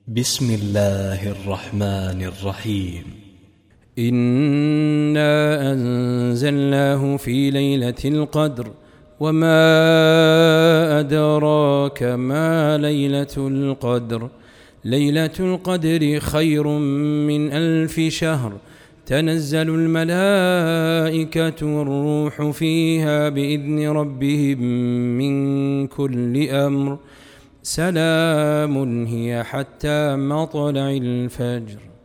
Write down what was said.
بسم الله الرحمن الرحيم. إنا أنزلناه في ليلة القدر وما أدراك ما ليلة القدر. ليلة القدر خير من 1000 شهر. تنزل الملائكة والروح فيها بإذن ربهم من كل أمر. سلام هي حتى مطلع الفجر.